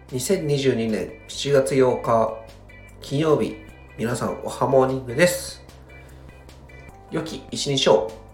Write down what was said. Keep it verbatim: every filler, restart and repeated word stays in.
にせんにじゅうにねんしちがつようか金曜日、皆さんおはモーニングです。良き一日を。